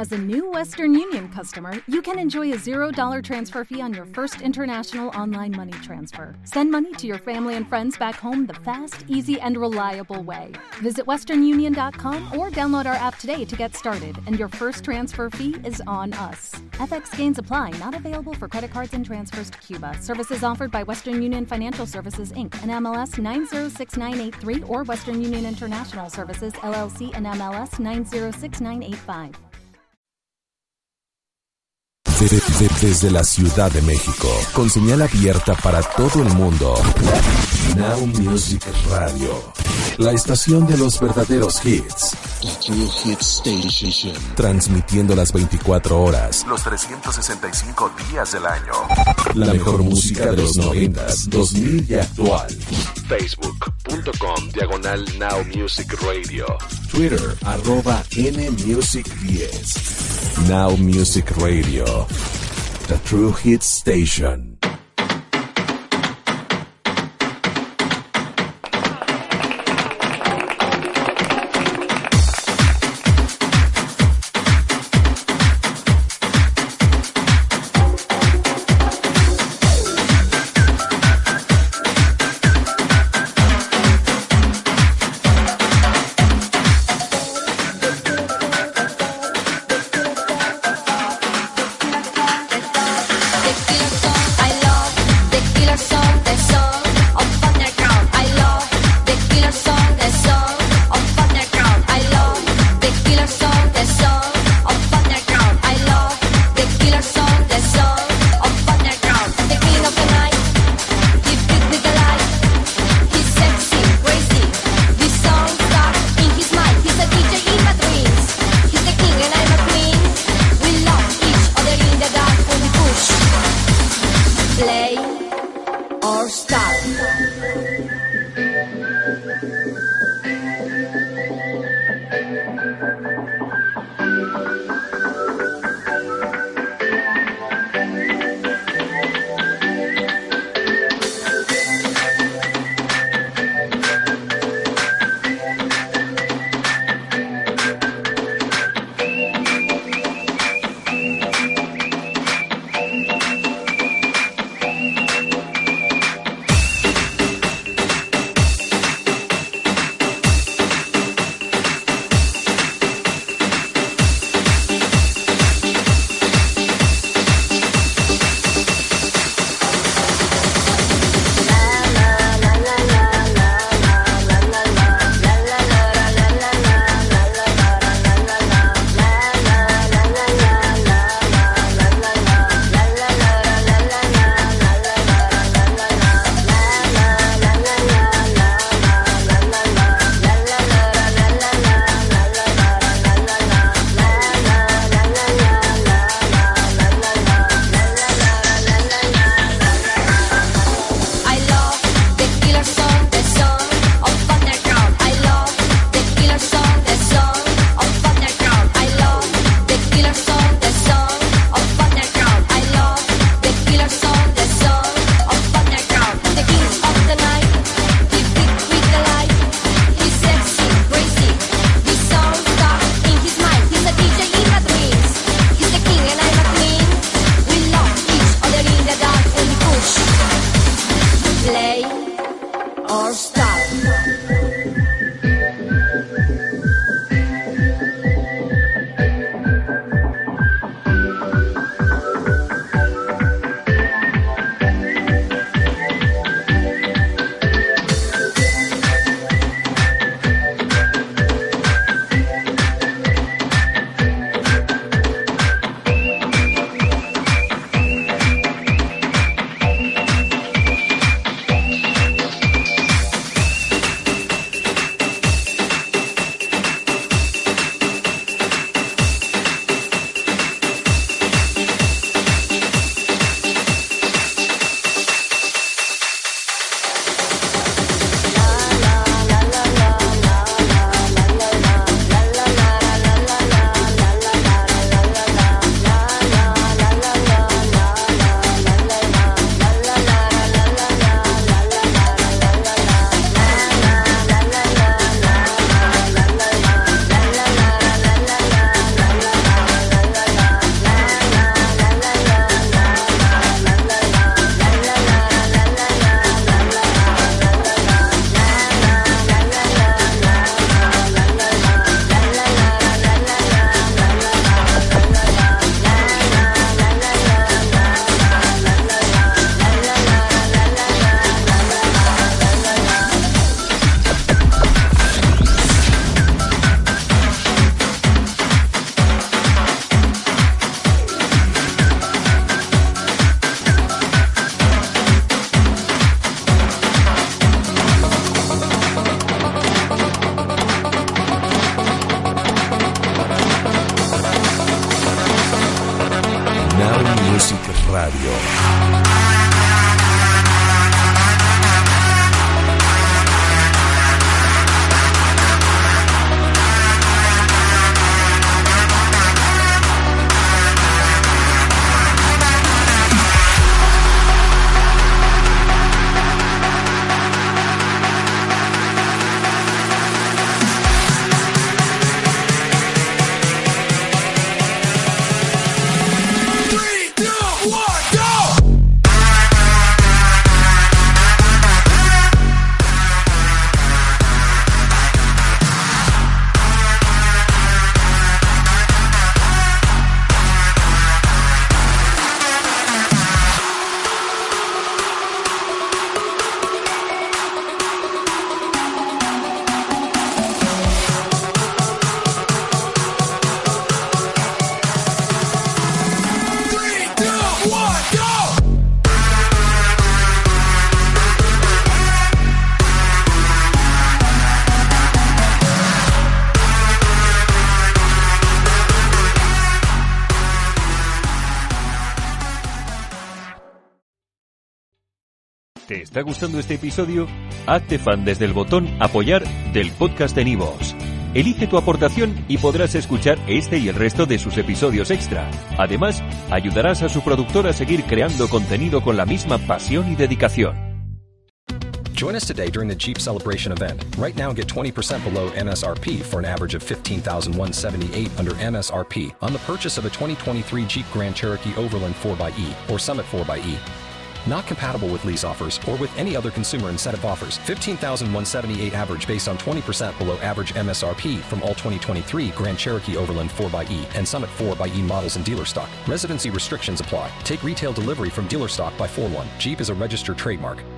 As a new Western Union customer, you can enjoy a $0 transfer fee on your first international online money transfer. Send money to your family and friends back home the fast, easy, and reliable way. Visit westernunion.com or download our app today to get started, and your first transfer fee is on us. FX gains apply, not available for credit cards and transfers to Cuba. Services offered by Western Union Financial Services, Inc., and MLS 906983, or Western Union International Services, LLC, and MLS 906985. Desde la Ciudad de México, con señal abierta para todo el mundo. Now Music Radio, la estación de los verdaderos hits. The True Hits Station. Transmitiendo las 24 horas, los 365 días del año. La mejor música de los 90s, 2000 y actual. Facebook.com/Now Music Radio. Twitter @NMusic10. Now Music Radio, the True Hits Station. I Music Radio. ¿Te está gustando este episodio? Hazte fan desde el botón Apoyar del podcast de Nivos. Elige tu aportación y podrás escuchar este y el resto de sus episodios extra. Además, ayudarás a su productor a seguir creando contenido con la misma pasión y dedicación. Join us today during the Jeep Celebration event. Right now, get 20% below MSRP for an average of $15,178 under MSRP on the purchase of a 2023 Jeep Grand Cherokee Overland 4xE or Summit 4xE. Not compatible with lease offers or with any other consumer incentive offers. $15,178 average based on 20% below average MSRP from all 2023 Grand Cherokee Overland 4xE and Summit 4xE models in dealer stock. Residency restrictions apply. Take retail delivery from dealer stock by 4/1. Jeep is a registered trademark.